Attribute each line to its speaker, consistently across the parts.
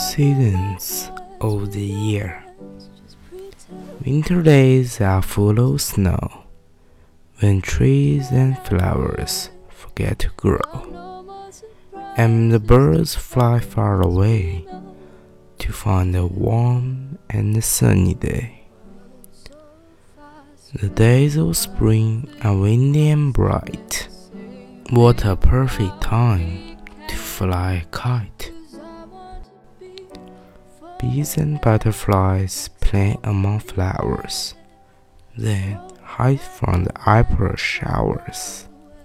Speaker 1: seasons of the year. Winter days are full of snow, when trees and flowers forget to grow, and the birds fly far away to find a warm and sunny day. The days of spring are windy and bright. What a perfect time to fly a kite. Bees and butterflies play among flowers, then hide from the April showers.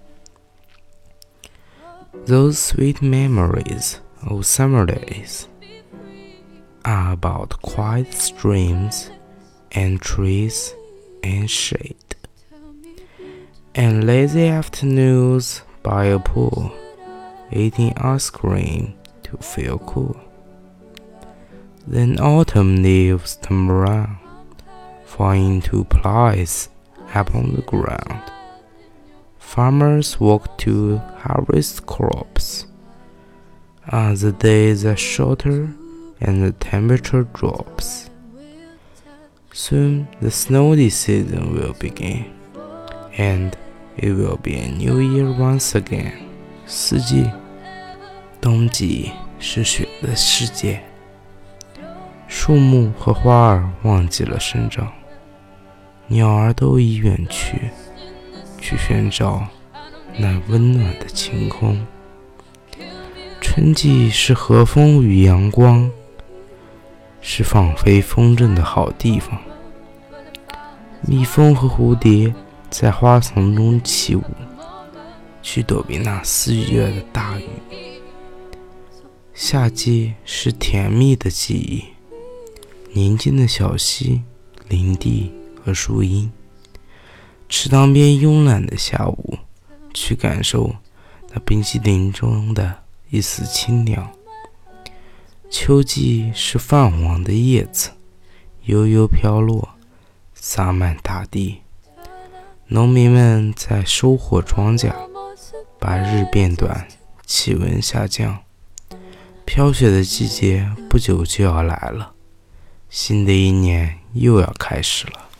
Speaker 1: Those sweet memories of summer days are about quiet streams and trees and shade, and lazy afternoons by a pool, eating ice cream to feel cool. Then autumn leaves turn around, falling into place upon the ground. Farmers work to harvest crops. As the days are shorter and the temperature drops, soon the snowy season will begin, and it will be a new year once again. 四季，冬季是雪的世界，树木和花儿忘记了生长，鸟儿都已远去，去寻找那温暖的晴空。春季是和风与阳光，是放飞风筝的好地方。蜜蜂和蝴蝶在花丛中起舞，去躲避那4月的大雨。夏季是甜蜜的记忆，宁静的小溪、林地和树荫，池塘边慵懒的下午，去感受那冰淇淋中的一丝清凉。秋季是泛黄的叶子，悠悠飘落，洒满大地。农民们在收获庄稼，把日变短，气温下降。飘雪的季节不久就要来了，新的一年又要开始了。